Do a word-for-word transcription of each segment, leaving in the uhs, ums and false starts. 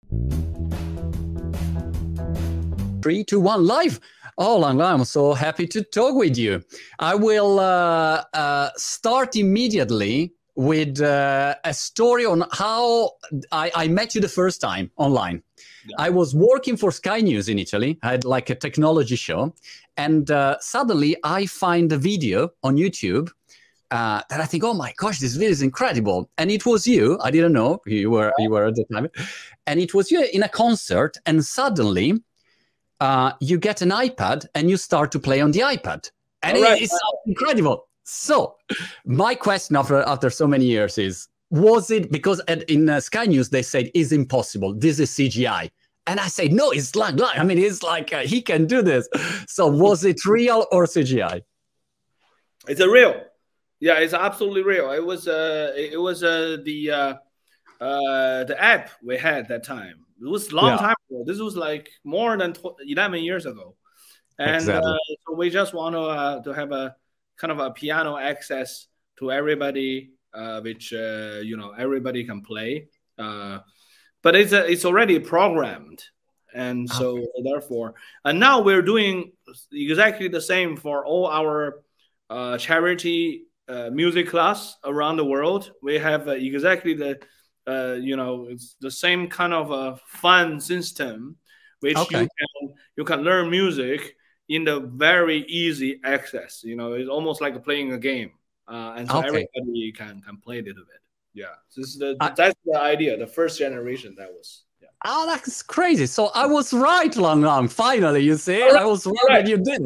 Three, two, one, live. Oh, Lang Lang, I'm so happy to talk with you. I will uh, uh, start immediately with uh, a story on how I, I met you the first time online. Yeah. I was working for Sky News in Italy. I had like a technology show. And uh, suddenly I find a video on YouTube uh, that I think, oh my gosh, this video is incredible. And it was you. I didn't know you were, you were at the time. And it was you in a concert. And suddenly uh, you get an iPad and you start to play on the iPad. And right. it, it's so incredible. So my question after, after so many years is, was it, because at, in uh, Sky News, they said, it's impossible. This is C G I. And I say, no, it's like, I mean, it's like, uh, he can do this. So was it real or C G I? It's a real. Yeah, it's absolutely real. It was, uh, it was uh, the, uh, uh, the app we had that time. It was a long yeah. time ago. This was like more than eleven years ago. And exactly. uh, so we just want to, uh, to have a kind of a piano access to everybody, uh, which, uh, you know, everybody can play. Uh, but it's, a, it's already programmed. And so okay. therefore, and now we're doing exactly the same for all our uh, charity uh, music class around the world. We have uh, exactly the, uh, you know, it's the same kind of a fun system, which okay. you can, you can learn music in the very easy access. You know, it's almost like playing a game. Uh, and so okay. everybody can, can play a little bit. Yeah, this is the, uh, that's the idea, the first generation that was. Yeah. Oh, that's crazy. So I was right, Lang Lang. Finally, you see, right. I was right, right. and you did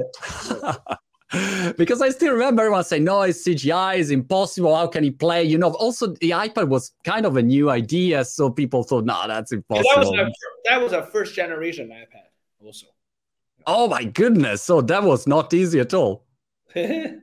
it. Because I still remember everyone saying, no, it's C G I, it's impossible. How can he play? You know, also the iPad was kind of a new idea. So people thought, no, that's impossible. Yeah, that, was our, that was a first generation iPad also. Oh, my goodness. So that was not easy at all. By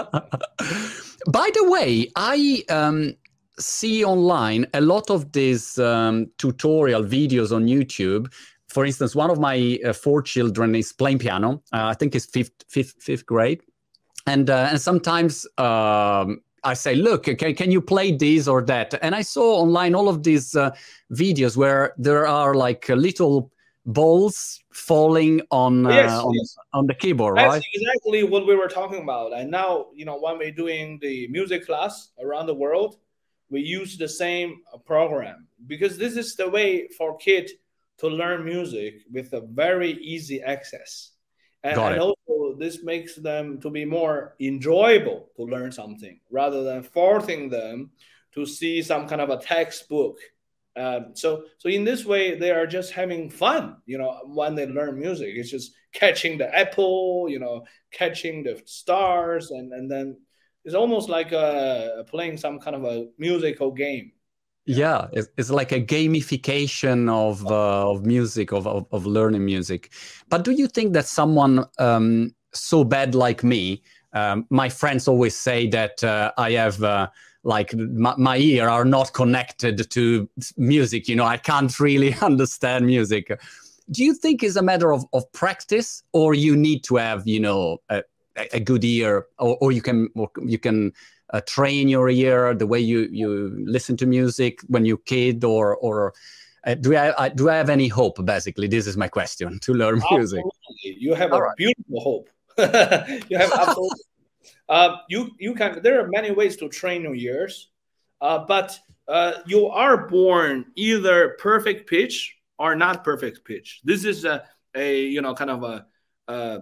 the way, I um, see online a lot of these um, tutorial videos on YouTube. For instance, one of my uh, four children is playing piano. Uh, I think it's fifth, fifth, fifth grade. And, uh, and sometimes um, I say, look, can, can you play this or that? And I saw online all of these uh, videos where there are like little balls falling on, uh, yes, on, yes. on the keyboard, That's right? exactly what we were talking about. And now, you know, when we're doing the music class around the world, we use the same program because this is the way for kids to learn music with a very easy access. And, and also this makes them to be more enjoyable to learn something rather than forcing them to see some kind of a textbook. Um, so, so in this way, they are just having fun, you know, when they learn music. It's just catching the apple, you know, catching the stars, and, and then it's almost like uh, playing some kind of a musical game. Yeah, it's, it's like a gamification of uh, of music, of, of of learning music. But do you think that someone um, so bad like me, um, my friends always say that uh, I have uh, like my, my ear are not connected to music. You know, I can't really understand music. Do you think it's a matter of of practice, or you need to have, you know, a, a good ear, or, or you can or you can uh, train your ear the way you you listen to music when you're a kid, or or uh, do I, I do I have any hope? Basically, this is my question, to learn music. Absolutely. You have All a right. beautiful hope. You have absolutely. uh, you you can. There are many ways to train your ears, uh, but uh, you are born either perfect pitch or not perfect pitch. This is a a you know kind of a. Uh,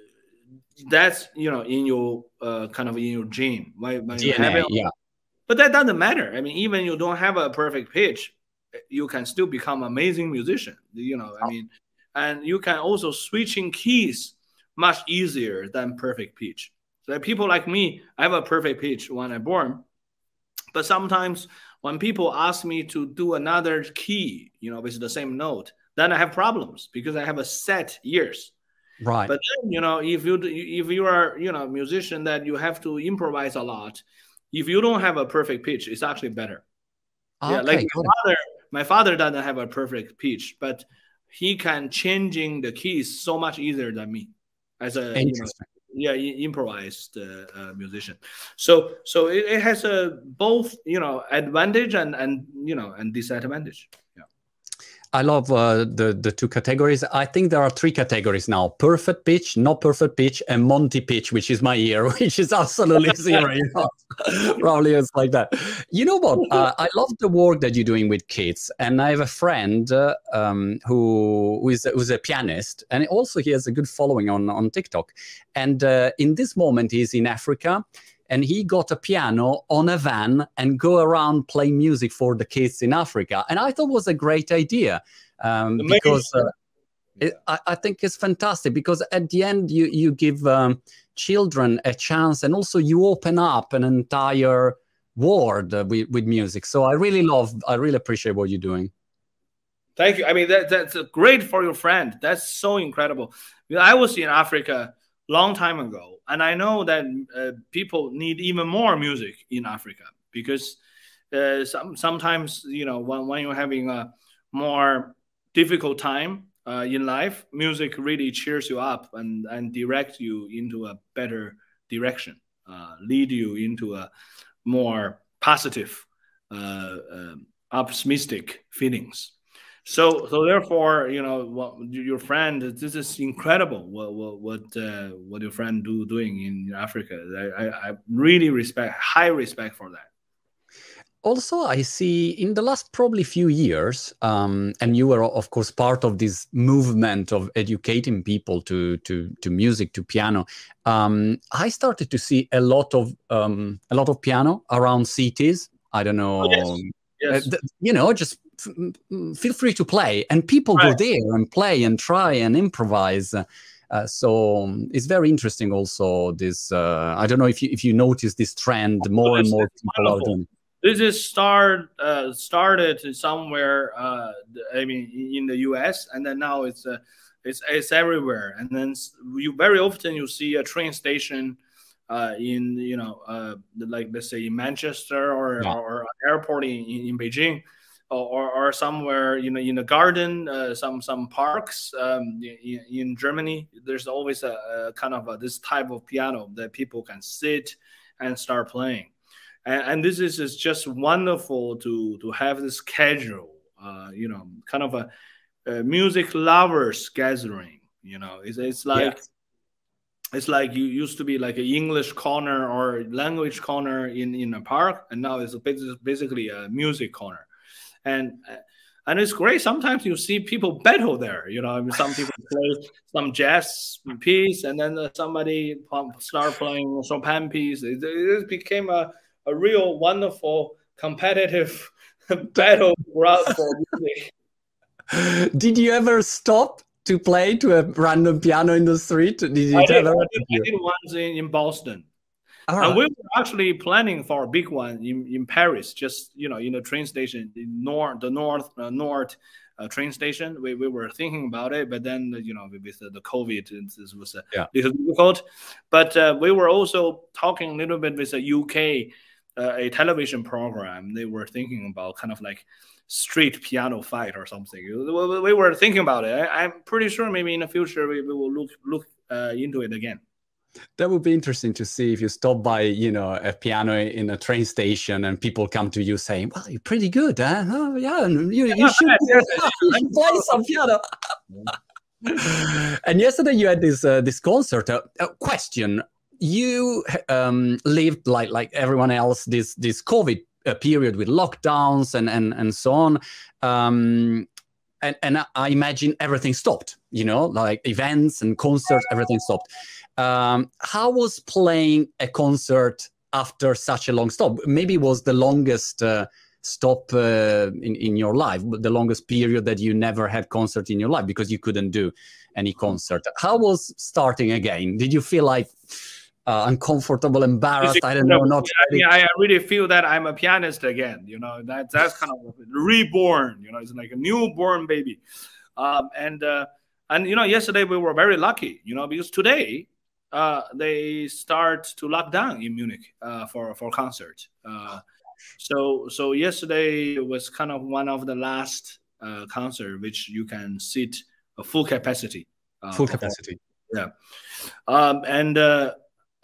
that's you know in your uh, kind of in your gene, right? D N A, yeah. But that doesn't matter. I mean, even you don't have a perfect pitch, you can still become an amazing musician. You know, I mean, and you can also switching keys much easier than perfect pitch. So people like me, I have a perfect pitch when I'm born, but sometimes when people ask me to do another key, you know, with the same note, then I have problems because I have a set ears. Right. But then, you know, if you if you are, you know, a musician that you have to improvise a lot, if you don't have a perfect pitch, it's actually better. Okay, yeah, like my father, my father doesn't have a perfect pitch, but he can changing the keys so much easier than me as a you know, yeah improvised uh, uh, musician. So so it, it has a both you know advantage and and you know and disadvantage. Yeah. I love uh, the the two categories. I think there are three categories now: perfect pitch, not perfect pitch, and Monty pitch, which is my ear, which is absolutely zero. You know? Probably it's like that. You know what? Uh, I love the work that you're doing with kids, and I have a friend uh, um, who who is who's a pianist, and also he has a good following on on TikTok. And uh, in this moment, he's in Africa. And he got a piano on a van and go around playing music for the kids in Africa. And I thought it was a great idea um, because uh, it, I, I think it's fantastic because at the end you, you give um, children a chance and also you open up an entire world uh, with, with music. So I really love, I really appreciate what you're doing. Thank you. I mean, that, that's great for your friend. That's so incredible. I was in Africa long time ago, and I know that uh, people need even more music in Africa because uh, some, sometimes, you know, when, when you're having a more difficult time uh, in life, music really cheers you up and, and direct you into a better direction, uh, lead you into a more positive, uh, uh, optimistic feelings. So, so therefore, you know, what, your friend, this is incredible. What, what, what, uh, what your friend do doing in Africa? I, I, I really respect, high respect for that. Also, I see in the last probably few years, um, and you were of course part of this movement of educating people to to to music, to piano. Um, I started to see a lot of um, a lot of piano around cities. I don't know, oh, yes. Yes. Uh, you know, just feel free to play, and people right. go there and play and try and improvise. Uh, so um, it's very interesting. Also, this uh, I don't know if you if you notice this trend, more and more people are doing. This is start uh, started somewhere. Uh, I mean, in the U S, and then now it's uh, it's it's everywhere. And then you very often you see a train station uh, in you know uh, like let's say in Manchester or yeah. or, or airport in, in Beijing. Or, or somewhere, you know, in a garden, uh, some some parks um, in, in Germany. There's always a, a kind of a, this type of piano that people can sit and start playing, and, and this is, is just wonderful to to have this schedule. Uh, you know, kind of a, a music lovers gathering. You know, it's it's like. Yeah. It's like you used to be like an English corner or language corner in, in a park, and now it's basically a music corner. And and it's great. Sometimes you see people battle there. You know, I mean, some people play some jazz piece, and then somebody start playing Chopin piece. It, it became a, a real wonderful competitive battle ground for music. Did you ever stop to play to a random piano in the street? Did you I, did, ever? I, did, I did once in, in Boston. Right. And we were actually planning for a big one in, in Paris, just, you know, in the train station, in north, the north, uh, north uh, train station. We, we were thinking about it, but then, you know, with the, the COVID, this was a yeah. little difficult. But uh, we were also talking a little bit with a U K, uh, a television program. They were thinking about kind of like street piano fight or something. We were thinking about it. I, I'm pretty sure maybe in the future we, we will look, look uh, into it again. That would be interesting to see if you stop by, you know, a piano in a train station and people come to you saying, well, you're pretty good, huh? Oh, yeah, you, you should, you should play some piano. And yesterday you had this uh, this concert. Uh, uh, question, you um, lived like like everyone else this, this COVID uh, period with lockdowns and, and, and so on. Um, and, and I imagine everything stopped, you know, like events and concerts, everything stopped. Um, how was playing a concert after such a long stop? Maybe it was the longest uh, stop uh, in, in your life, the longest period that you never had concert in your life because you couldn't do any concert. How was starting again? Did you feel like uh, uncomfortable, embarrassed? I don't know. Not I, mean, I really feel that I'm a pianist again. You know, that that's kind of reborn. You know, it's like a newborn baby. Um, and uh, and you know, yesterday we were very lucky. You know, because today. Uh, they start to lock down in Munich uh, for for concert. Uh, so so yesterday was kind of one of the last uh, concert which you can sit a full capacity. Uh, full capacity. Yeah, um, and uh,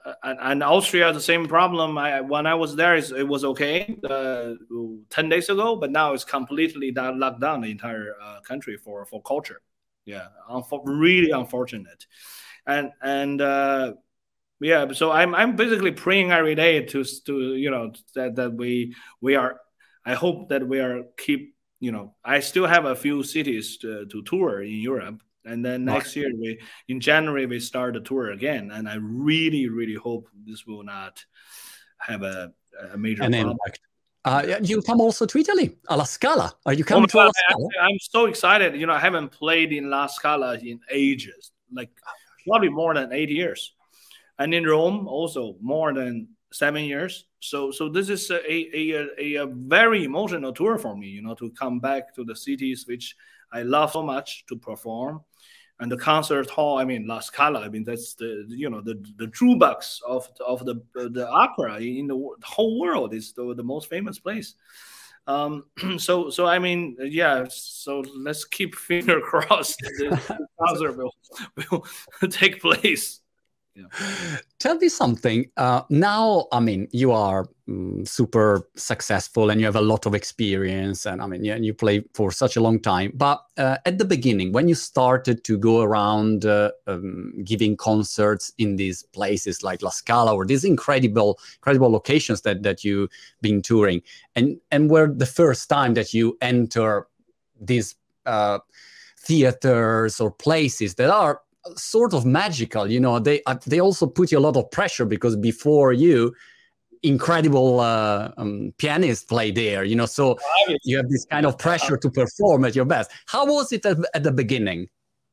and, and Austria, the same problem. I when I was there, it was okay uh, ten days ago, but now it's completely down, locked down the entire uh, country for for culture. Yeah, unfo- really unfortunate, and and uh, yeah. So I'm I'm basically praying every day to to you know that that we we are. I hope that we are keep you know. I still have a few cities to, to tour in Europe. And then next year, we in January, we start the tour again. And I really, really hope this will not have a, a major An problem. impact. Uh, you come also to Italy, alla Scala. Are you coming oh, to alla Scala? I, I'm so excited. You know, I haven't played in La Scala in ages, like probably more than eight years. And in Rome, also more than seven years. So, so this is a a, a, a very emotional tour for me. You know, to come back to the cities which I love so much to perform. And the concert hall, I mean, La Scala, I mean, that's the, you know, the, the jukebox of, of the, the opera in the whole world. Is the, the most famous place. Um, so, so, I mean, yeah, so let's keep finger crossed the concert will, will take place. Yeah. Tell me something. Uh, now, I mean, you are um, super successful and you have a lot of experience, and I mean, yeah, you play for such a long time. But uh, at the beginning, when you started to go around uh, um, giving concerts in these places like La Scala or these incredible, incredible locations that that you've been touring, and and were the first time that you enter these uh, theaters or places that are sort of magical, you know, they uh, they also put you a lot of pressure because before you, incredible uh, um, pianists play there, you know, so you have this kind of pressure to perform at your best. How was it at, at the beginning?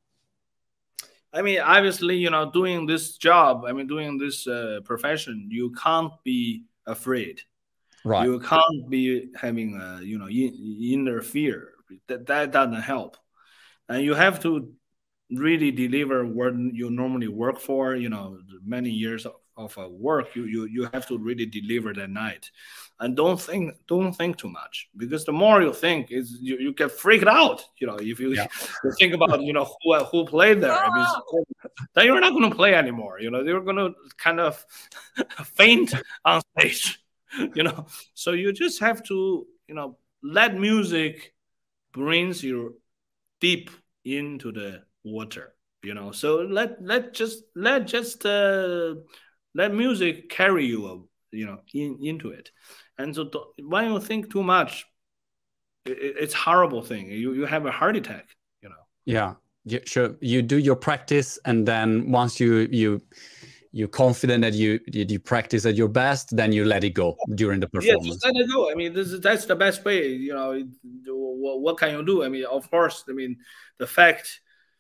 I mean, obviously, you know, doing this job, I mean, doing this uh, profession, you can't be afraid. Right. You can't be having, a, you know, in, inner fear. That, that doesn't help. And you have to really deliver what you normally work for, you know, many years of, of uh, work, you, you you have to really deliver that night. And don't think don't think too much, because the more you think, is you, you get freaked out, you know, if you, yeah. you think about, you know, who who played there. I mean, then you're not going to play anymore, you know, you're going to kind of faint on stage, you know. So you just have to, you know, let music brings you deep into the water, you know. So let let just let just uh, let music carry you, uh, you know, in, into it. And so when you think too much, it, it's horrible thing. You you have a heart attack, you know. Yeah, you, sure. You do your practice, and then once you you you're confident that you you practice at your best, then you let it go during the performance. Yeah, just let it go. I mean, this is that's the best way. You know, what, what can you do? I mean, of course, I mean, the fact.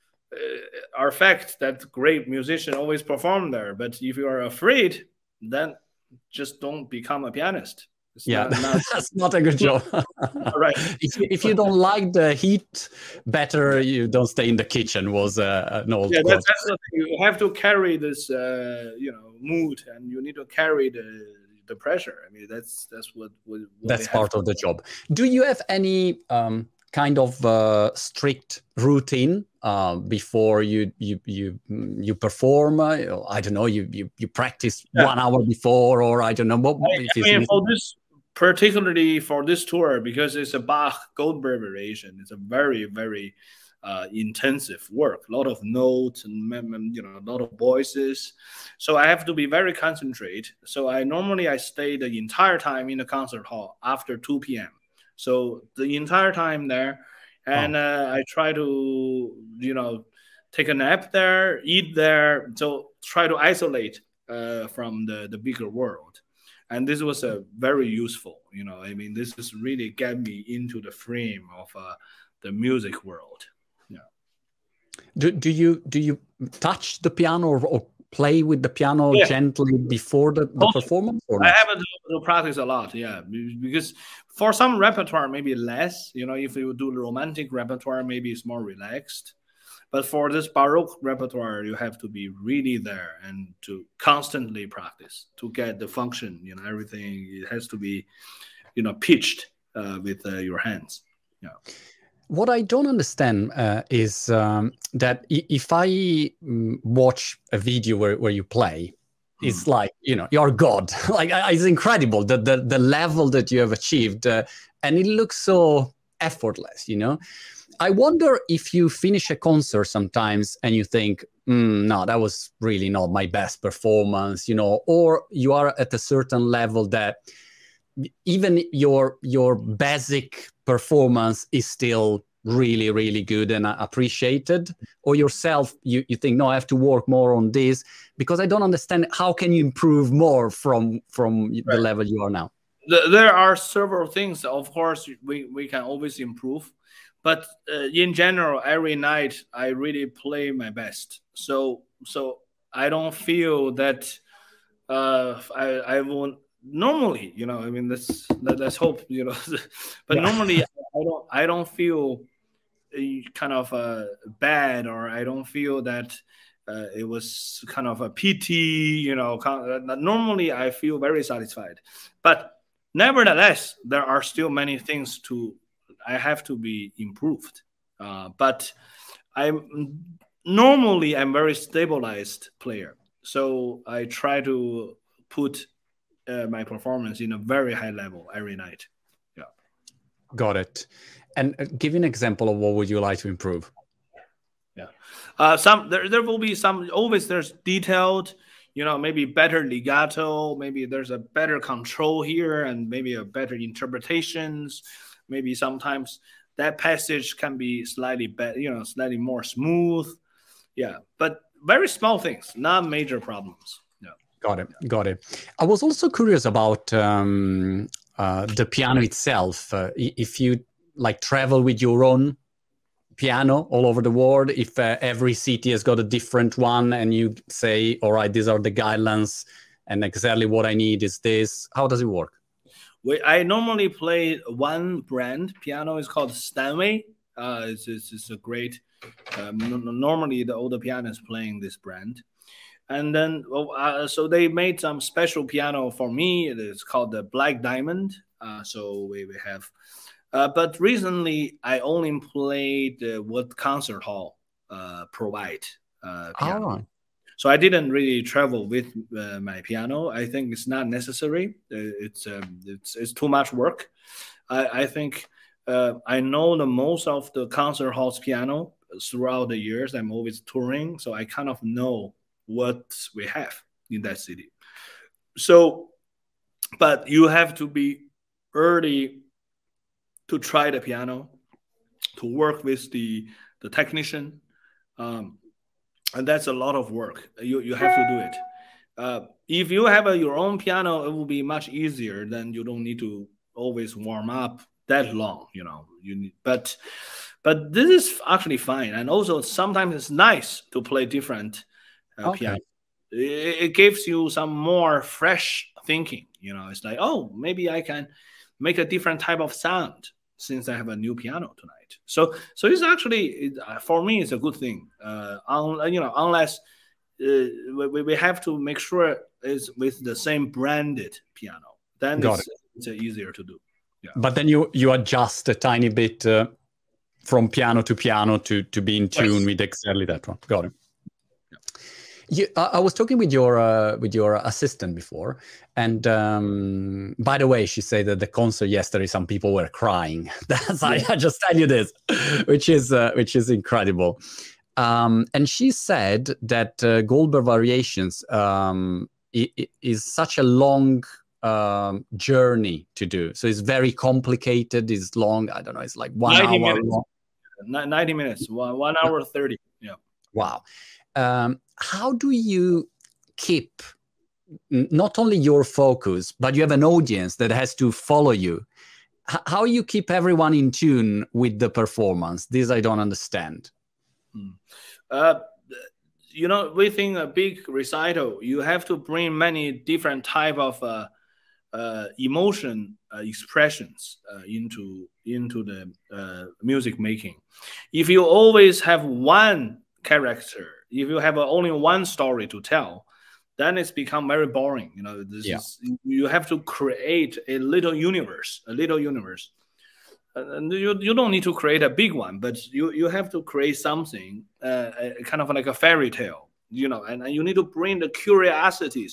Uh, are fact that great musicians always perform there, but if you are afraid, then just don't become a pianist. It's yeah, not, not... that's not a good job. Right. If you, if you don't like the heat, better you don't stay in the kitchen. Was uh, an old yeah. quote. That's, that's the thing. You have to carry this, uh, you know, mood, and you need to carry the the pressure. I mean, that's that's what. what, what that's part of the job. Do you have any um, kind of uh, strict routine uh, before you you you you perform? Uh, I don't know. You you you practice yeah. one hour before, or I don't know. What, I, I mean, for this, particularly for this tour, because it's a Bach Goldberg variation, it's a very very uh, intensive work. A lot of notes and, you know, a lot of voices. So I have to be very concentrated. So I normally I stay the entire time in the concert hall after two p m So the entire time there, and oh. uh, I try to, you know, take a nap there, eat there. So try to isolate uh, from the, the bigger world. And this was a uh, very useful, you know, I mean, this is really get me into the frame of uh, the music world. Yeah. Do, do you do you touch the piano or, or play with the piano yeah. gently before the, the performance? Or not? I have to, to practice a lot, yeah, because for some repertoire, maybe less. You know, if you do romantic repertoire, maybe it's more relaxed. But for this Baroque repertoire, you have to be really there and to constantly practice to get the function. You know, everything it has to be, you know, pitched uh, with uh, your hands. Yeah. What I don't understand uh, is um, that if I watch a video where, where you play, is like, you know, you're God. Like, it's incredible, the, the, the level that you have achieved. Uh, and it looks so effortless, you know. I wonder if you finish a concert sometimes and you think, mm, no, that was really not my best performance, you know, or you are at a certain level that even your your basic performance is still really, really good and appreciated, or yourself, you, you think, no, I have to work more on this because I don't understand how can you improve more from from right. the level you are now. There are several things, of course, we, we can always improve. But uh, in general, every night I really play my best. So so I don't feel that uh, I I won't normally, you know. I mean, let's let's hope, you know. But yeah. normally I don't I don't feel kind of uh, bad, or I don't feel that uh, it was kind of a pity, you know. Normally I feel very satisfied, but nevertheless, there are still many things to. I have to be improved, uh, but I'm normally I'm very stabilized player, so I try to put uh, my performance in a very high level every night. Yeah, got it. And uh, give an example of what would you like to improve? Yeah, uh, some there there will be some always there's detailed. You know, maybe better legato, maybe there's a better control here, and maybe a better interpretations. Maybe sometimes that passage can be slightly better, you know, slightly more smooth. Yeah, but very small things, not major problems. Yeah. Got it. Got it. I was also curious about um, uh, the piano itself. Uh, if you like travel with your own piano all over the world, if uh, every city has got a different one and you say, all right, these are the guidelines and exactly what I need is this. How does it work? We, I normally play one brand piano. It's called Steinway. Uh, it's, it's, it's a great. Um, normally, the older piano is playing this brand, and then well, uh, so they made some special piano for me. It's called the Black Diamond. Uh, so we, we have, uh, but recently I only played uh, what concert hall uh, provide uh, piano. Oh. So I didn't really travel with uh, my piano. I think it's not necessary. It's um, it's it's too much work. I, I think uh, I know the most of the concert halls piano throughout the years. I'm always touring, so I kind of know what we have in that city. So, but you have to be early to try the piano, to work with the the technician. Um, And that's a lot of work. You you have to do it. Uh, if you have a, your own piano, it will be much easier. Then you don't need to always warm up that long. You know. You need, but but this is actually fine. And also sometimes it's nice to play different uh, okay. piano. It, it gives you some more fresh thinking. You know, it's like, oh, maybe I can make a different type of sound since I have a new piano tonight. So, so it's actually, it, for me, it's a good thing. Uh, un, you know, unless uh, we, we have to make sure it's with the same branded piano, then Got it's, it. it's easier to do. Yeah. But then you you adjust a tiny bit uh, from piano to piano to to be in tune yes. with exactly that one. Got it. You, I was talking with your uh, with your assistant before, and um, by the way, she said that the concert yesterday, some people were crying. That's yeah. I, I just tell you this, which is uh, which is incredible. Um, and she said that uh, Goldberg Variations um, is such a long um, journey to do. So it's very complicated. It's long. I don't know. It's like one hour minutes. long. ninety minutes. One, one hour thirty. Yeah. Wow. Um, how do you keep not only your focus, but you have an audience that has to follow you? H how you keep everyone in tune with the performance? This I don't understand. Hmm. Uh, you know, within a big recital, you have to bring many different type of uh, uh, emotion uh, expressions uh, into into the uh, music making. If you always have one character, if you have only one story to tell, then it's become very boring. You know, this yeah. is, you have to create a little universe, a little universe. And you, you don't need to create a big one, but you, you have to create something uh, kind of like a fairy tale, you know, and, and you need to bring the curiosities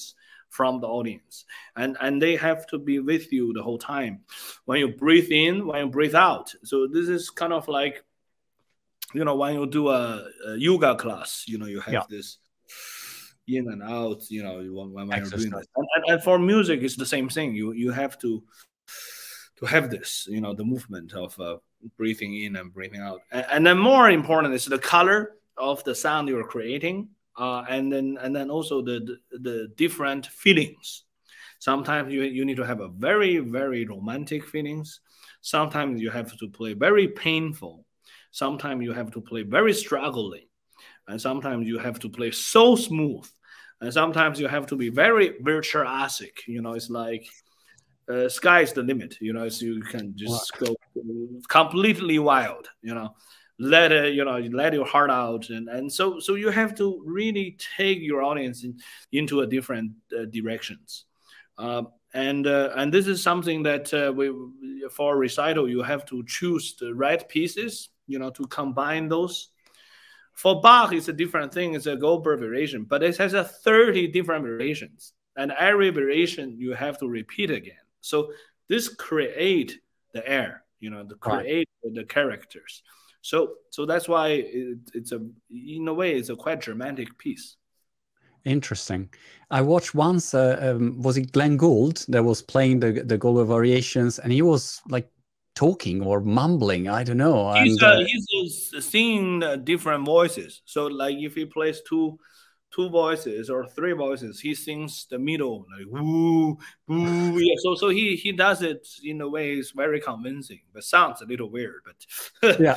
from the audience, and and they have to be with you the whole time when you breathe in, when you breathe out. So this is kind of like, you know, when you do a, a yoga class, you know, you have yeah. this in and out, you know, when, when you're doing this. And, and, and for music, it's the same thing. You you have to to have this, you know, the movement of uh, breathing in and breathing out. And, and then more important is the color of the sound you're creating, uh, and then and then also the, the the different feelings. Sometimes you you need to have a very very romantic feelings. Sometimes you have to play very painful. Sometimes you have to play very struggling, and sometimes you have to play so smooth, and sometimes you have to be very virtuosic. You know, it's like uh, sky's the limit. You know, so you can just wow. go completely wild. You know, let it, you know, let your heart out, and and so so you have to really take your audience in, into a different uh, directions. Uh, and uh, and this is something that uh, we for recital you have to choose the right pieces, you know, to combine those. For Bach, it's a different thing. It's a Goldberg variation, but it has a thirty different variations, and every variation you have to repeat again. So this create the air, you know, to create right. the characters. So so that's why it, it's a in a way it's a quite dramatic piece. Interesting. I watched once. Uh, um, was it Glenn Gould that was playing the the Goldberg variations, and he was like talking or mumbling, I don't know. He's, and, uh, uh, he's uh, singing uh, different voices. So like if he plays two two voices or three voices, he sings the middle, like woo, woo. Yeah. So so he he does it in a way is very convincing, but sounds a little weird. But yeah.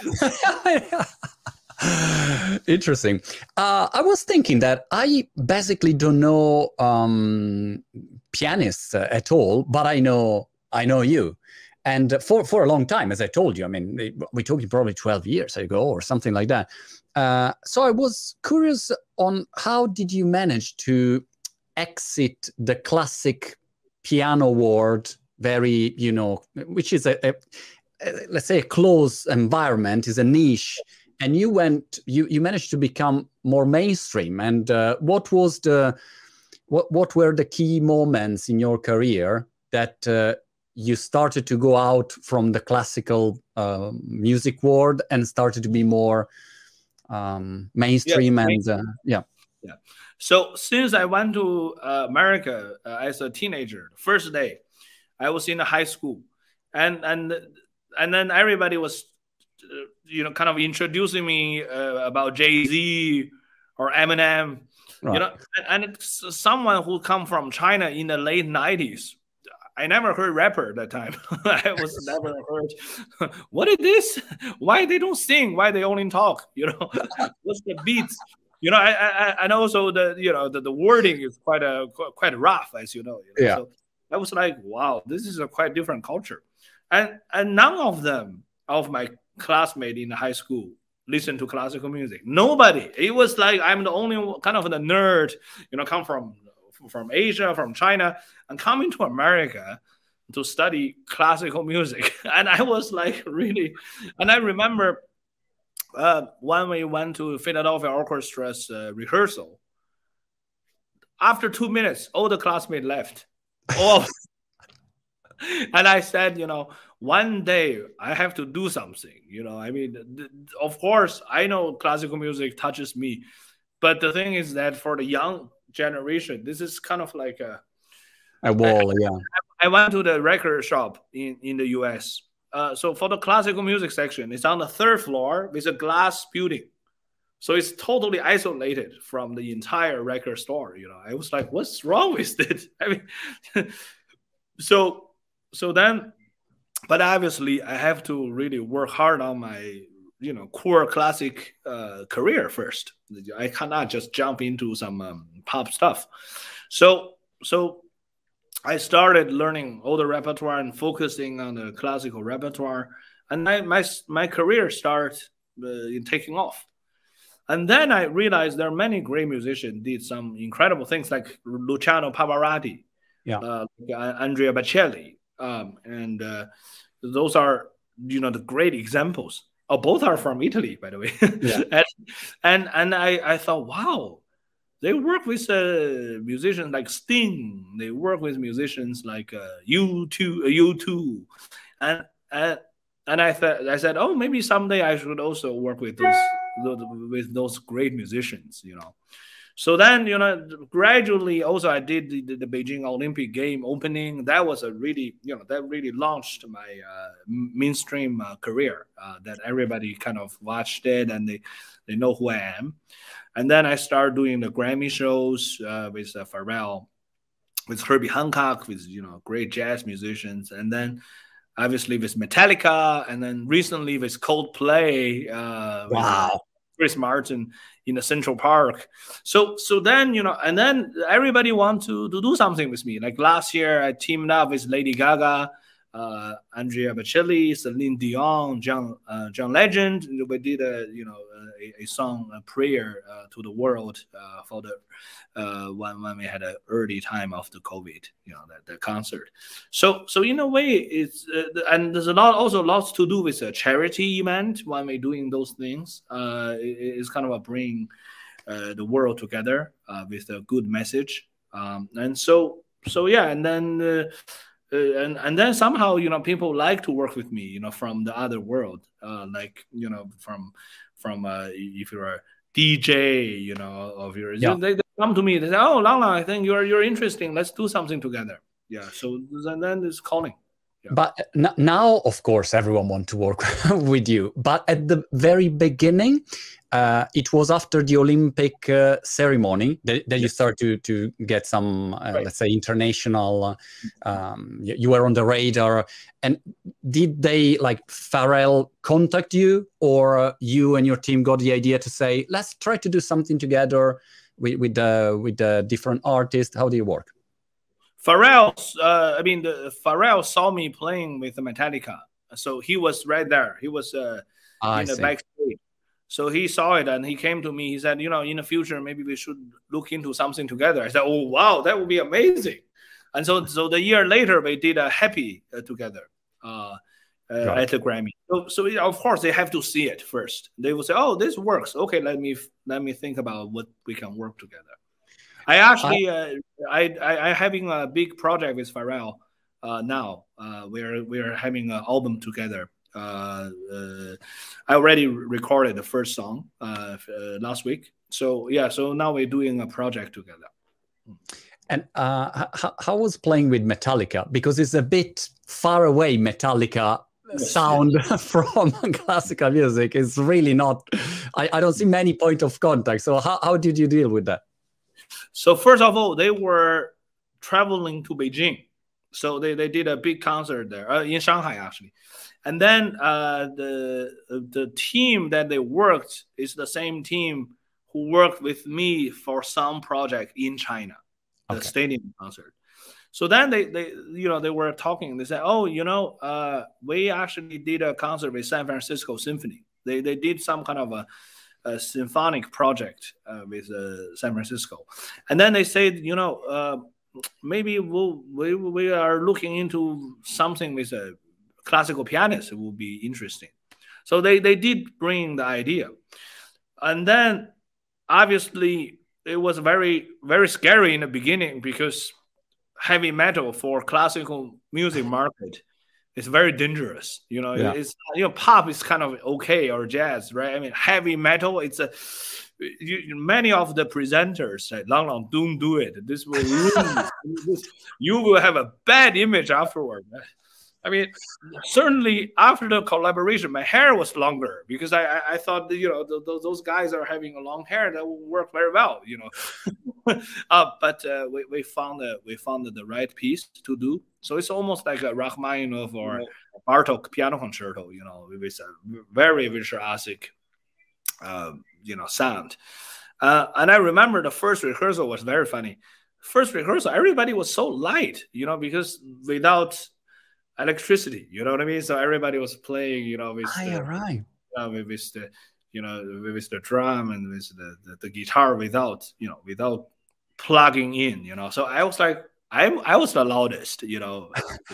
Interesting. Uh, I was thinking that I basically don't know um, pianists uh, at all, but I know I know you. And for, for a long time, as I told you, I mean, we're talking probably twelve years ago or something like that. Uh, so I was curious on how did you manage to exit the classic piano world, very, you know, which is a, a, a let's say a closed environment, is a niche. And you went, you, you managed to become more mainstream. And uh, what was the, what, what were the key moments in your career that uh, you started to go out from the classical uh, music world and started to be more um, mainstream? Yeah, and uh, yeah. Yeah. So since I went to uh, America uh, as a teenager, first day, I was in a high school, and and and then everybody was, uh, you know, kind of introducing me uh, about Jay-Z or Eminem, right. You know, and, and it's someone who come from China in the late nineties. I never heard rapper at that time. I was never heard. What is this? Why they don't sing? Why they only talk? You know, what's the beats? You know, I, I, and also the, you know, the, the wording is quite a quite rough, as you know. You know? Yeah. So I was like, wow, this is a quite different culture, and and none of them of my classmates in high school listen to classical music. Nobody. It was like I'm the only kind of the nerd. You know, come from. from Asia, from China, and coming to America to study classical music. And I was like really, and I remember uh, when we went to Philadelphia Orchestra's uh, rehearsal, after two minutes, all the classmates left. Oh, and I said, you know, one day I have to do something, you know, I mean, th- of course, I know classical music touches me, but the thing is that for the young generation, this is kind of like a a wall. I, yeah I went to the record shop in in the U S, uh, so for the classical music section, it's on the third floor with a glass building, so it's totally isolated from the entire record store. You know, I was like, what's wrong with it? I mean, so so then, but obviously I have to really work hard on my, you know, core classic uh, career first. I cannot just jump into some um, pop stuff. So, so I started learning all the repertoire and focusing on the classical repertoire, and I, my my career started uh, taking off. And then I realized there are many great musicians did some incredible things, like Luciano Pavarotti, yeah, uh, Andrea Bocelli, um, and uh, those are, you know, the great examples. Oh, both are from Italy, by the way. Yeah. and and, and I, I thought, wow, they work with uh, musicians like Sting. They work with musicians like uh, U two, uh, U two, and and and I thought I said, oh, maybe someday I should also work with those, those with those great musicians, you know. So then, you know, gradually also I did the, the, the Beijing Olympic game opening. That was a really, you know, that really launched my uh, mainstream uh, career. Uh, that everybody kind of watched it and they they know who I am. And then I started doing the Grammy shows uh, with uh, Pharrell, with Herbie Hancock, with, you know, great jazz musicians. And then obviously with Metallica, and then recently with Coldplay. Uh, wow. With Chris Martin in the Central Park. So so then, you know, and then everybody wants to, to do something with me. Like last year, I teamed up with Lady Gaga, uh, Andrea Bocelli, Celine Dion, John uh, John Legend. We did a you know a, a song, a prayer uh, to the world uh, for the uh, when when we had an early time of the COVID, you know, that the concert. So so in a way, it's uh, and there's a lot also lots to do with a charity event when we're doing those things. Uh, it, it's kind of a bring uh, the world together uh, with a good message. Um, and so so yeah, and then. Uh, Uh, and and then somehow, you know, people like to work with me, you know, from the other world, uh, like, you know, from from uh, if you're a D J, you know, of yours, yeah. they, they come to me, they say, oh, Lang Lang, I think you're you're interesting, let's do something together. Yeah, so and then it's calling. Yeah. But now, of course, everyone wants to work with you. But at the very beginning, uh, it was after the Olympic uh, ceremony that, that you start to to get some, uh, right. let's say, international. Um, you, you were on the radar. And did they, like, Pharrell contact you, or uh, you and your team got the idea to say, let's try to do something together with with uh, with uh, different artists? How do you work? Pharrell, uh, I mean, the, Pharrell saw me playing with Metallica, so he was right there. He was uh, in the backstage, so he saw it and he came to me. He said, "You know, in the future, maybe we should look into something together." I said, "Oh, wow, that would be amazing!" And so, so the year later, we did a Happy uh, together uh, uh, right. at the Grammy. So, so of course, they have to see it first. They will say, "Oh, this works. Okay, let me let me think about what we can work together." I actually, uh, I, I, I having a big project with Pharrell uh, now. Uh, we're we're having an album together. Uh, uh, I already recorded the first song uh, uh, last week. So yeah, so now we're doing a project together. And uh, how, how was playing with Metallica? Because it's a bit far away, Metallica yes, sound yes. from classical music. It's really not. I, I don't see many point of contact. So how how did you deal with that? So first of all, they were traveling to Beijing. So they, they did a big concert there, uh, in Shanghai, actually. And then uh, the, the team that they worked is the same team who worked with me for some project in China, the okay. stadium concert. So then they, they, you know, they were talking. They said, oh, you know, uh, we actually did a concert with San Francisco Symphony. They, they did some kind of a a symphonic project uh, with uh, San Francisco. And then they said, you know, uh, maybe we'll, we we are looking into something with a classical pianist. It would be interesting. So they, they did bring the idea. And then obviously it was very, very scary in the beginning because heavy metal for classical music market it's very dangerous, you know. Yeah. It's you know, pop is kind of okay or jazz, right? I mean, heavy metal. It's a you, many of the presenters say, "Lang Lang, don't do it. This will ruin you. You will have a bad image afterward." I mean, certainly after the collaboration, my hair was longer because I I, I thought that, you know th th those guys are having a long hair that will work very well, you know. uh, but uh, we we found that we found the right piece to do. So it's almost like a Rachmaninoff or Bartok piano concerto, you know, with a very virtuosic, uh, you know, sound. Uh, and I remember the first rehearsal was very funny. First rehearsal, everybody was so light, you know, because without electricity, you know what I mean? So everybody was playing, you know, with ah, yeah, the, right. uh, with, with the, you know, with the drum and with the, the, the guitar without, you know, without plugging in, you know. So I was like, I I was the loudest, you know.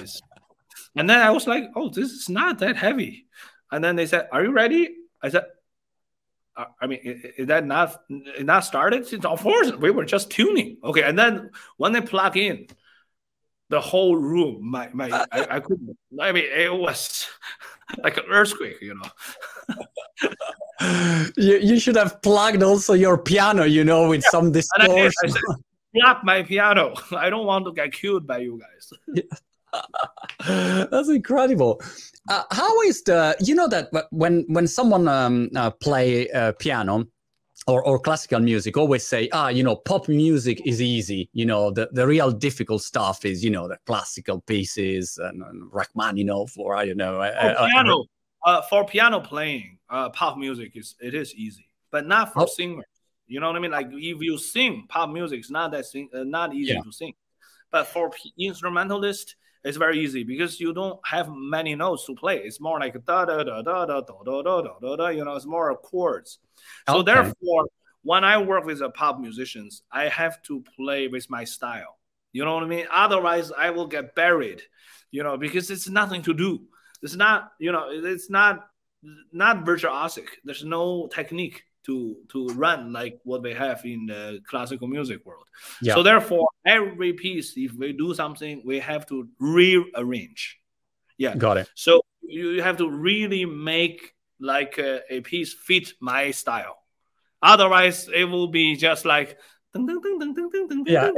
And then I was like, oh, this is not that heavy. And then they said, are you ready? I said, I mean, is that not not started? Of course, we were just tuning. Okay, and then when they plug in, the whole room, my my, I, I couldn't. I mean, it was like an earthquake, you know. you you should have plugged also your piano, you know, with yeah. some distortion. And I, did. I said, plug my piano. I don't want to get killed by you guys. Yeah. That's incredible. Uh, how is the, you know that when when someone um, uh, play uh, piano or, or classical music, always say, ah, you know, pop music is easy. You know, the, the real difficult stuff is, you know, the classical pieces and, and Rachmaninoff, or I don't know. For uh, piano, uh, for piano playing, uh, pop music is it is easy, but not for oh. singers. You know what I mean? Like if you sing pop music, it's not that sing, uh, not easy yeah. to sing. But for instrumentalist, it's very easy because you don't have many notes to play. It's more like da da da da da da da da da da da. You know, it's more chords. So okay. therefore, when I work with the pop musicians, I have to play with my style. You know what I mean? Otherwise, I will get buried. You know, because it's nothing to do. It's not. You know, it's not not virtuosic. There's no technique to to run like what they have in the classical music world. Yeah. So therefore, every piece, if we do something, we have to rearrange. Yeah, got it. So you have to really make like a, a piece fit my style. Otherwise, it will be just like yeah.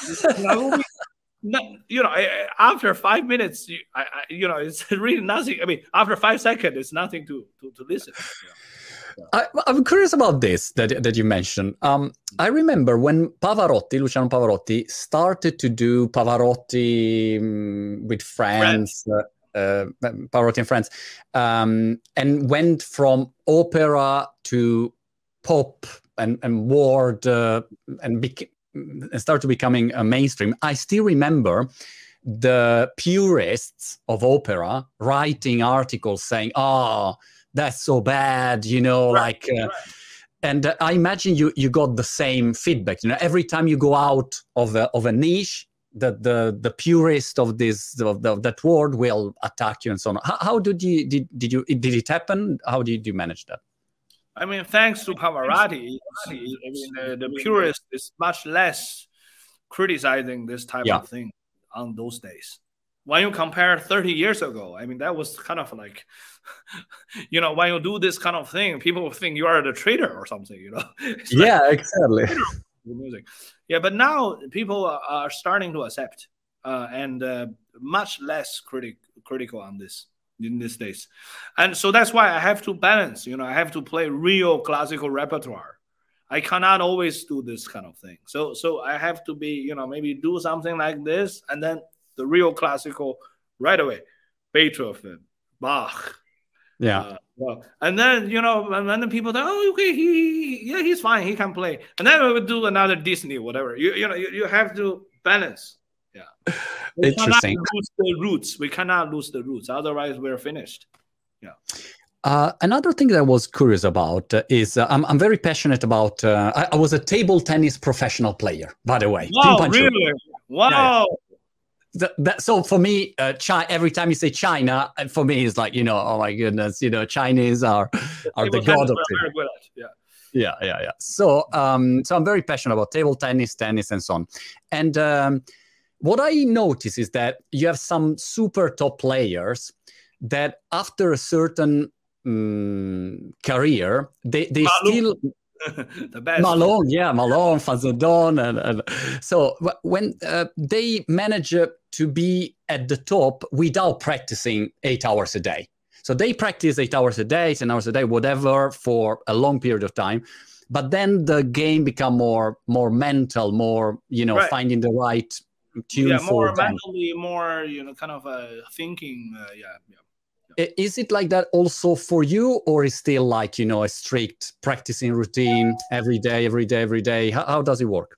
You know, after five minutes, you, I, I, you know, it's really nothing. I mean, after five seconds, it's nothing to to, to listen. You know? I, I'm curious about this that, that you mentioned. Um, I remember when Pavarotti, Luciano Pavarotti, started to do Pavarotti um, with friends, uh, uh, Pavarotti and friends, um, and went from opera to pop and, and word uh, and, beca- and started becoming a mainstream. I still remember the purists of opera writing articles saying, oh, that's so bad, you know, right, like, uh, right. and uh, I imagine you you got the same feedback. You know, every time you go out of a, of a niche, the the the purist of this of, the, of that word will attack you and so on. How, how did you did did you did it happen? How did you manage that? I mean, thanks to Pavarotti, I mean, the, the purist is much less criticizing this type yeah. of thing on those days. When you compare thirty years ago, I mean, that was kind of like, you know, when you do this kind of thing, people think you are the traitor or something, you know? It's yeah, like, exactly. Music. Yeah, but now people are starting to accept uh, and uh, much less critic critical on this in these days. And so that's why I have to balance, you know, I have to play real classical repertoire. I cannot always do this kind of thing. So, so I have to be, you know, maybe do something like this and then the real classical right away, Beethoven, Bach. Yeah. Uh, well, and then, you know, and then people say, oh, okay, he, he, yeah, he's fine. He can play. And then we would do another Disney, whatever. You, you know, you, you have to balance. Yeah. We Interesting. cannot lose the roots. We cannot lose the roots. Otherwise, we're finished. Yeah. Uh, another thing that I was curious about uh, is uh, I'm, I'm very passionate about, uh, I, I was a table tennis professional player, by the way. Wow, really? Wow. Yeah. That, that, so for me, uh, China, every time you say China, for me, it's like, you know, oh my goodness, you know, Chinese are are the god of it. Yeah. yeah, yeah, yeah. So, um, so I'm very passionate about table tennis, tennis, and so on. And um, what I notice is that you have some super top players that after a certain um, career, they they still. The best. Malone, yeah, Malone, Fazodon, and, and so when uh, they manage uh, to be at the top without practicing eight hours a day. So they practice eight hours a day, ten hours a day, whatever, for a long period of time. But then the game become more more mental, more, you know, right. finding the right tune yeah, for more mentally, more, you know, kind of uh, thinking. Uh, yeah, yeah. Is it like that also for you, or is still like, you know, a strict practicing routine every day, every day, every day? How, how does it work?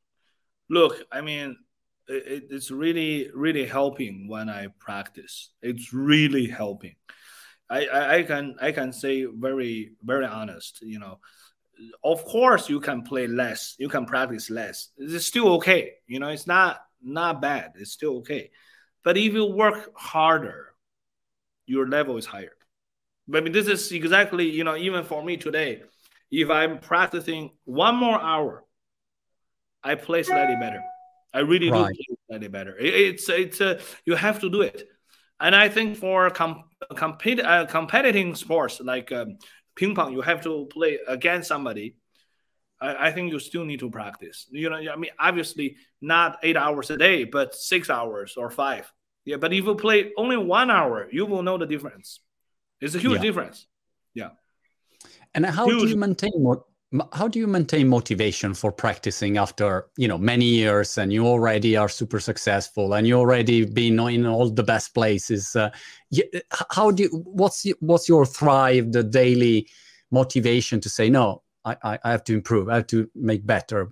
Look, I mean, it, it's really, really helping when I practice. It's really helping. I, I, I can I can say very, very honest, you know, of course you can play less, you can practice less. It's still okay. You know, it's not, not bad. It's still okay. But if you work harder, your level is higher. But I mean, this is exactly, you know, even for me today, If I'm practicing one more hour, I play slightly better. I really right. do play slightly better. It, it's it's uh, you have to do it. And I think for com compete uh, competing sports like um, ping pong, you have to play against somebody. I, I think you still need to practice. You know, I mean, obviously not eight hours a day, but six hours or five. Yeah, but if you play only one hour, you will know the difference. It's a huge yeah. difference. Yeah. And how huge. do you maintain mo how do you maintain motivation for practicing after, you know, many years, and you already are super successful and you already been in all the best places? Uh, you, how do you, what's what's your thrive, the daily motivation to say, no, I, I, I have to improve, I have to make better?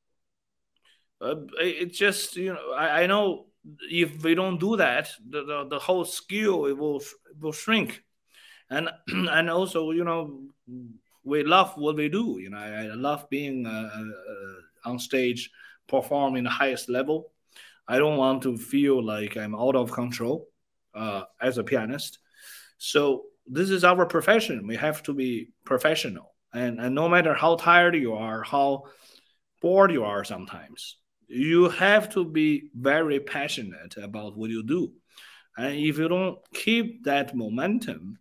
Uh, it's just, you know, I, I know if we don't do that, the, the, the whole skill, it will, it will shrink. And, and also, you know, we love what we do. You know, I, I love being uh, uh, on stage, performing the highest level. I don't want to feel like I'm out of control uh, as a pianist. So this is our profession. We have to be professional. And, and no matter how tired you are, how bored you are sometimes, you have to be very passionate about what you do. And if you don't keep that momentum,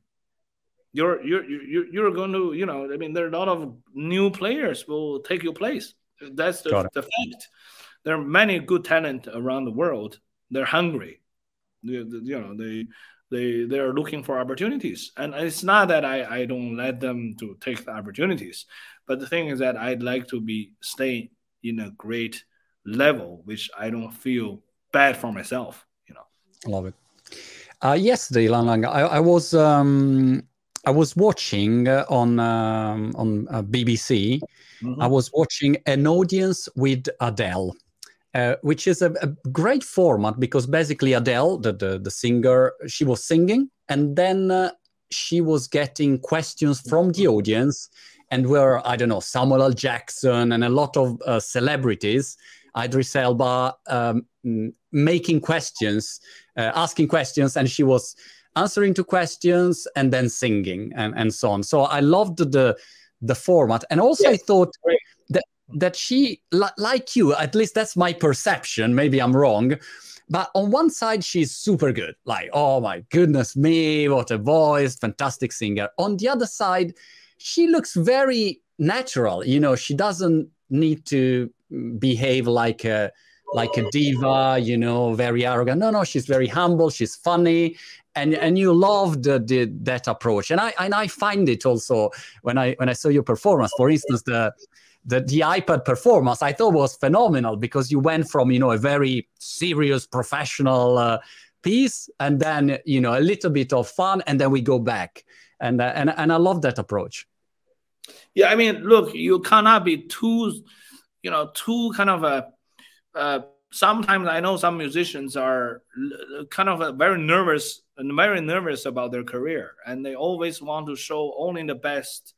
you're you're you're you're going to, you know, I mean, there are a lot of new players will take your place. That's the, the fact. There are many good talent around the world. They're hungry. They, you know, they they they are looking for opportunities. And it's not that I I don't let them to take the opportunities, but the thing is that I'd like to be stay in a great level, which I don't feel bad for myself. You know. Love it. Uh, yesterday, Lang Lang, I, I was. Um... I was watching uh, on um, on uh, B B C. Mm-hmm. I was watching An Audience with Adele, uh, which is a, a great format because basically Adele, the, the the singer, she was singing, and then uh, she was getting questions from the audience, and were, I don't know, Samuel L. Jackson and a lot of uh, celebrities, Idris Elba, um, making questions, uh, asking questions, and she was answering to questions and then singing and, and so on. So I loved the the format. And also yes, I thought great. that that she, li like you, at least that's my perception, maybe I'm wrong, but on one side she's super good. Like, oh my goodness me, what a voice, fantastic singer. On the other side, she looks very natural. You know, she doesn't need to behave like a like a diva, you know, very arrogant. No, no, she's very humble, she's funny. And, and you loved the, the, that approach, and I and I find it also when I when I saw your performance. For instance, the the the iPad performance I thought was phenomenal because you went from, you know, a very serious professional uh, piece, and then, you know, a little bit of fun, and then we go back, and uh, and and I love that approach. Yeah, I mean, look, you cannot be too, you know, too kind of a. Uh, sometimes I know some musicians are kind of very nervous and very nervous about their career, and they always want to show only the best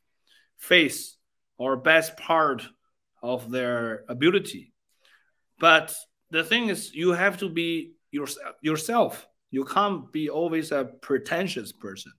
face or best part of their ability. But the thing is, you have to be your, yourself. You can't be always a pretentious person.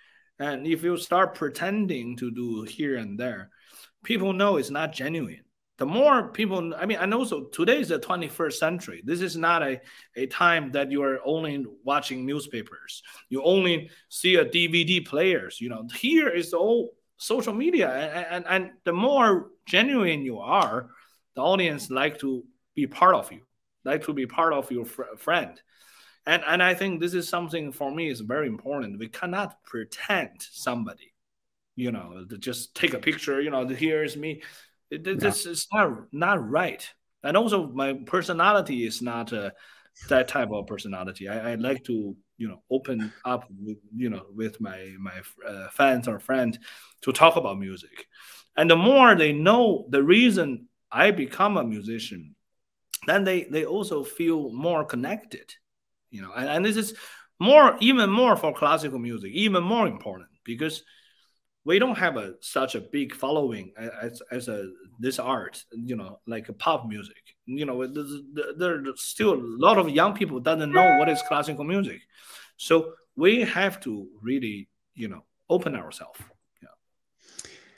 And if you start pretending to do here and there, people know it's not genuine. The more people, I mean, and also today is the twenty-first century. This is not a, a time that you are only watching newspapers. You only see a D V D players. You know, here is all social media. And, and, and the more genuine you are, the audience like to be part of you, like to be part of your fr friend. And, and I think this is something for me is very important. We cannot pretend somebody, you know, to just take a picture, you know, here is me. It, it, this is not not right, and also my personality is not uh, that type of personality. I, I like to, you know, open up with, you know, with my my uh, fans or friend to talk about music, and the more they know the reason I become a musician, then they they also feel more connected, you know, and, and this is more even more for classical music, even more important because we don't have a such a big following as as a this art, you know, like a pop music. You know, there's still a lot of young people doesn't know what is classical music, so we have to really, you know, open ourselves. Yeah.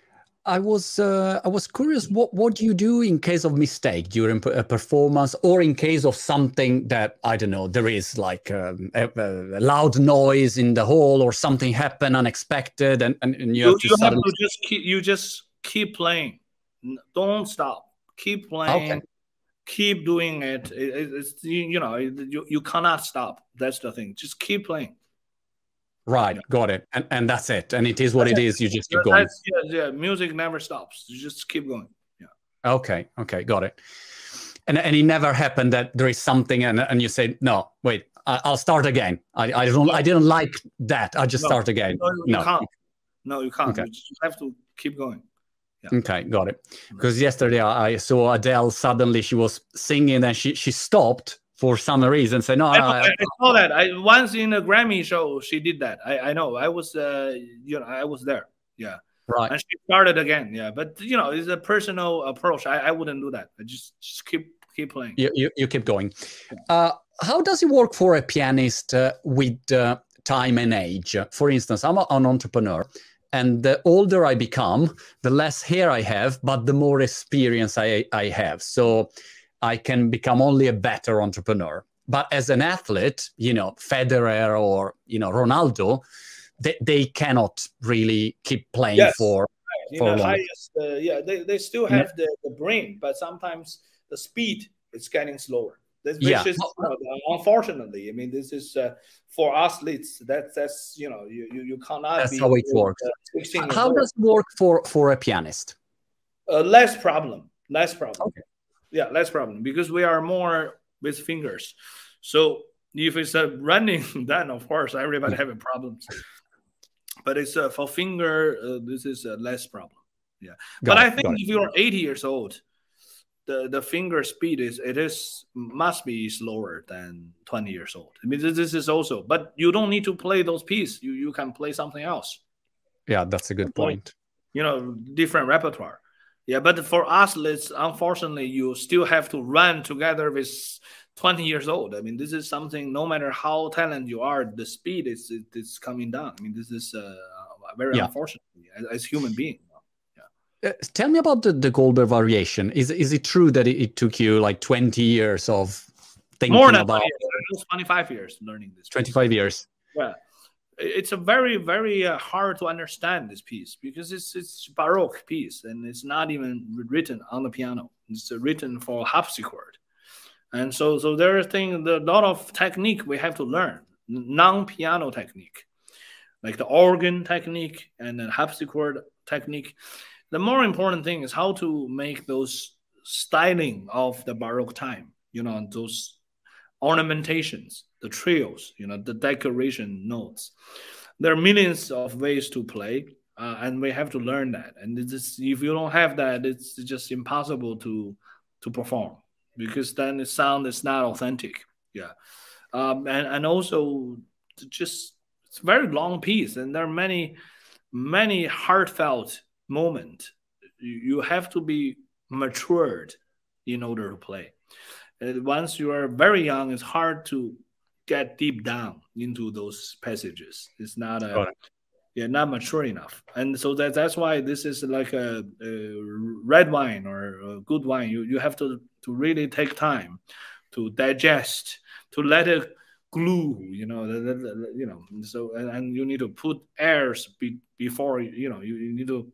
I was uh, I was curious. What what do you do in case of mistake during a performance, or in case of something that I don't know? There is like um, a, a loud noise in the hall, or something happened unexpected, and, and, and you, you have to you have suddenly. to just keep you just keep playing. Don't stop. Keep playing. Okay. Keep doing it. it, it it's you, you know you, you cannot stop. That's the thing. Just keep playing. Right, yeah. Got it. And and that's it. And it is what that's it it. is. You just keep that's, going. Yeah, yeah. Music never stops. You just keep going. Yeah. Okay. Okay. Got it. And and it never happened that there is something and and you say, no, wait, I, I'll start again. I I don't I didn't like that. I just no, start again. No, you no. can't. No, you can't. Okay. You just have to keep going. Yeah. Okay, got it. Because yesterday I saw Adele. Suddenly she was singing and she she stopped for some reason. Say no, I, I, I, I saw that. I once in a Grammy show she did that. I I know. I was uh you know I was there. Yeah. Right. And she started again. Yeah. But you know it's a personal approach. I, I wouldn't do that. I just just keep keep playing. You you, you keep going. Uh, how does it work for a pianist uh, with uh, time and age? For instance, I'm a, an entrepreneur. And the older I become, the less hair I have, but the more experience I, I have. So I can become only a better entrepreneur. But as an athlete, you know, Federer or, you know, Ronaldo, they, they cannot really keep playing yes. for, right. for the long. highest, uh, yeah, they, they still have yeah. the, the brain, but sometimes the speed is getting slower. This, which yeah. is, you know, unfortunately, I mean, this is uh, for athletes. That's that's you know, you you, you cannot. That's be how it works. Uh, how does it work for for a pianist? Uh, less problem, less problem. Okay. Yeah, less problem because we are more with fingers. So if it's a running, then of course everybody having problems. But it's uh, for finger. Uh, this is a less problem. Yeah, got but it, I think if you're eighty years old. The, the finger speed is it is must be slower than twenty years old. I mean this, this is also, but you don't need to play those pieces. You you can play something else. Yeah, that's a good point. You know, different repertoire. Yeah, but for athletes, unfortunately, you still have to run together with twenty years old. I mean, this is something. No matter how talented you are, the speed is is coming down. I mean, this is uh, very yeah. unfortunate as, as human beings. Uh, tell me about the, the Goldberg variation. Is is it true that it, it took you like twenty years of thinking More than about it? It was twenty-five years learning this. twenty-five piece. Years. Yeah, it's a very very uh, hard to understand this piece because it's it's Baroque piece and it's not even written on the piano. It's uh, written for harpsichord, and so so there are things, a lot of technique we have to learn, non-piano technique, like the organ technique and the harpsichord technique. The more important thing is how to make those styling of the Baroque time, you know, those ornamentations, the trios, you know, the decoration notes. There are millions of ways to play, uh, and we have to learn that. And it's just, if you don't have that, it's just impossible to to perform because then the sound is not authentic. Yeah, um, and and also just it's a very long piece, and there are many many heartfelt moment. You have to be matured in order to play. And once you are very young, it's hard to get deep down into those passages. It's not a right. yeah, not mature enough. And so that that's why this is like a, a red wine or a good wine. You you have to to really take time to digest, to let it glue, you know, the, the, the, you know. So and, and you need to put airs be, before you know you, you need to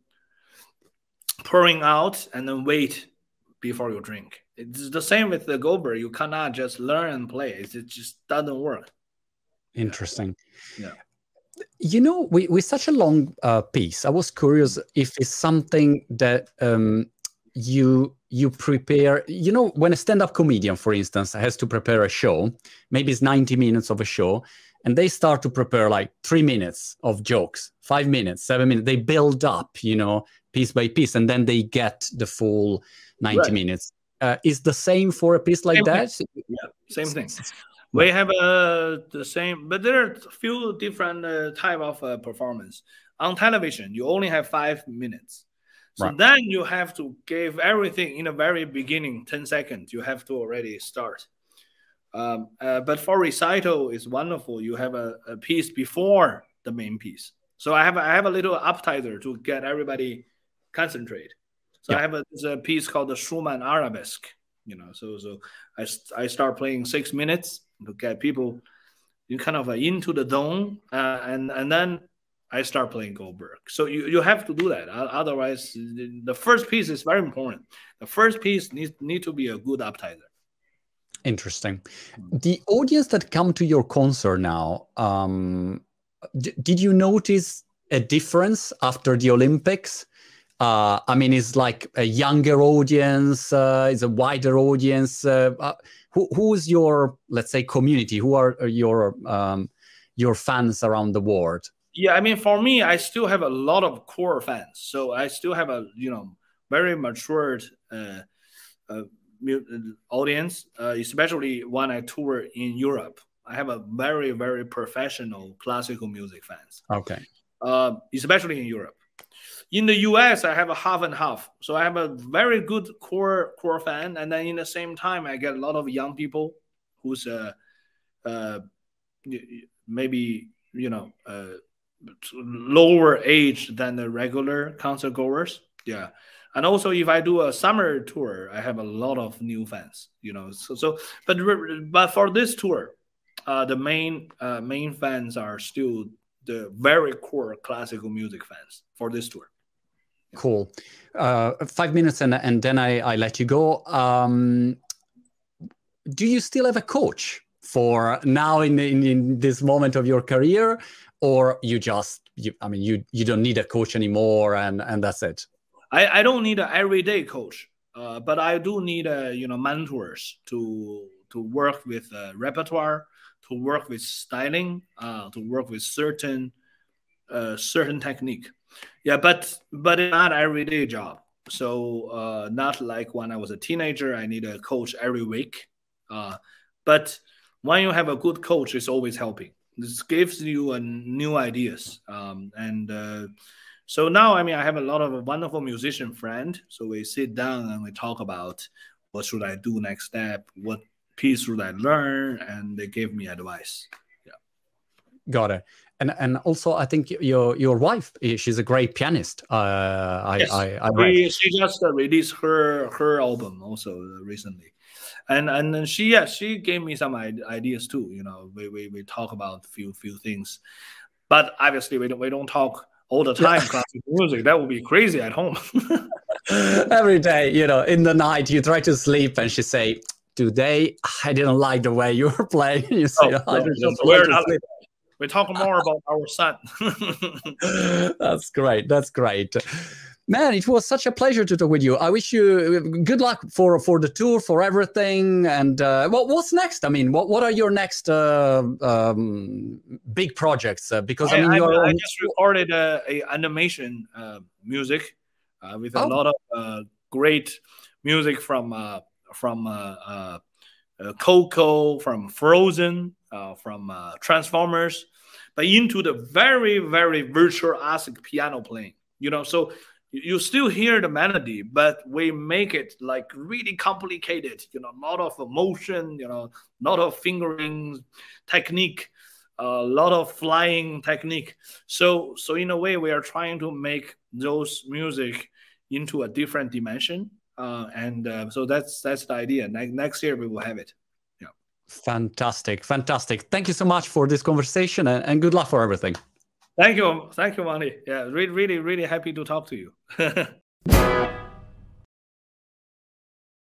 pouring out and then wait before you drink. It's the same with the Goldberg. You cannot just learn and play. It, it just doesn't work. Interesting. Yeah. You know, we, with such a long uh, piece, I was curious if it's something that um, you you prepare. You know, when a stand-up comedian, for instance, has to prepare a show, maybe it's ninety minutes of a show, and they start to prepare like three minutes of jokes, five minutes, seven minutes. They build up, you know, piece by piece, and then they get the full ninety right. minutes. Uh, is the same for a piece like same that? Thing. Yeah, same thing. We have uh, the same, but there are a few different uh, type of uh, performance. On television, you only have five minutes. So right. then you have to give everything in the very beginning, ten seconds. You have to already start. Um, uh, but for recital, it's wonderful. You have a, a piece before the main piece. So I have I have a little appetizer to get everybody concentrate. So yeah. I have a, a piece called the Schumann Arabesque. You know, so so I I start playing six minutes to get people you kind of into the zone, uh, and and then I start playing Goldberg. So you, you have to do that. Otherwise, the first piece is very important. The first piece needs need to be a good appetizer. Interesting. The audience that come to your concert now, um, did you notice a difference after the Olympics? Uh, I mean, it's like a younger audience, uh, it's a wider audience. Uh, uh, who, who's your, let's say, community? Who are your um, your fans around the world? Yeah, I mean, for me, I still have a lot of core fans. So I still have a, you know, very matured uh, uh, audience, uh, especially when I tour in Europe. I have a very, very professional classical music fans. Okay. Uh, especially in Europe. In the U S, I have a half and half. So I have a very good core core fan, and then in the same time, I get a lot of young people who's uh, uh, maybe you know uh, lower age than the regular concert goers. Yeah, and also if I do a summer tour, I have a lot of new fans. You know, so so but but for this tour, uh, the main uh, main fans are still the very core classical music fans for this tour. Cool. Uh, five minutes and, and then I, I let you go. Um, do you still have a coach for now in, in, in this moment of your career, or you just, you, I mean, you, you don't need a coach anymore and, and that's it? I, I don't need an everyday coach, uh, but I do need, uh, you know, mentors to, to work with uh, repertoire, to work with styling, uh, to work with certain, uh, certain technique. Yeah, but but it's not everyday job. So uh, not like when I was a teenager, I need a coach every week. Uh, but when you have a good coach, it's always helping. This gives you a new ideas. Um, and uh, so now, I mean, I have a lot of a wonderful musician friend. So we sit down and we talk about what should I do next step, what piece should I learn, and they give me advice. Yeah, got it. And and also, I think your your wife, she's a great pianist. Uh, I, yes. I, I she, she just uh, released her her album also recently, and and then she yeah she gave me some ideas too. You know, we we, we talk about few few things, but obviously we don't we don't talk all the time. Yeah. Classical music, that would be crazy at home. Every day, you know, in the night you try to sleep, and she say, "Today I didn't like the way you were playing." You say, oh, "I no, just we're not like we talk more about our son. That's great. That's great. Man, it was such a pleasure to talk with you. I wish you good luck for, for the tour, for everything. And uh, what, what's next? I mean, what, what are your next uh, um, big projects? Uh, because I, I mean, I, you're I, I just recorded a, a animation uh, music uh, with a oh. lot of uh, great music from uh, from uh, uh, uh, Coco, from Frozen, uh, from uh, Transformers. But into the very, very virtuosic piano playing, you know, so you still hear the melody, but we make it like really complicated, you know, a lot of emotion, you know, a lot of fingering technique, a lot of flying technique. So, so in a way, we are trying to make those music into a different dimension. Uh, and uh, so that's that's the idea. Ne- next year, we will have it. Fantastic. Fantastic. Thank you so much for this conversation and, and good luck for everything. Thank you. Thank you, Manny. Yeah, really, really, really happy to talk to you.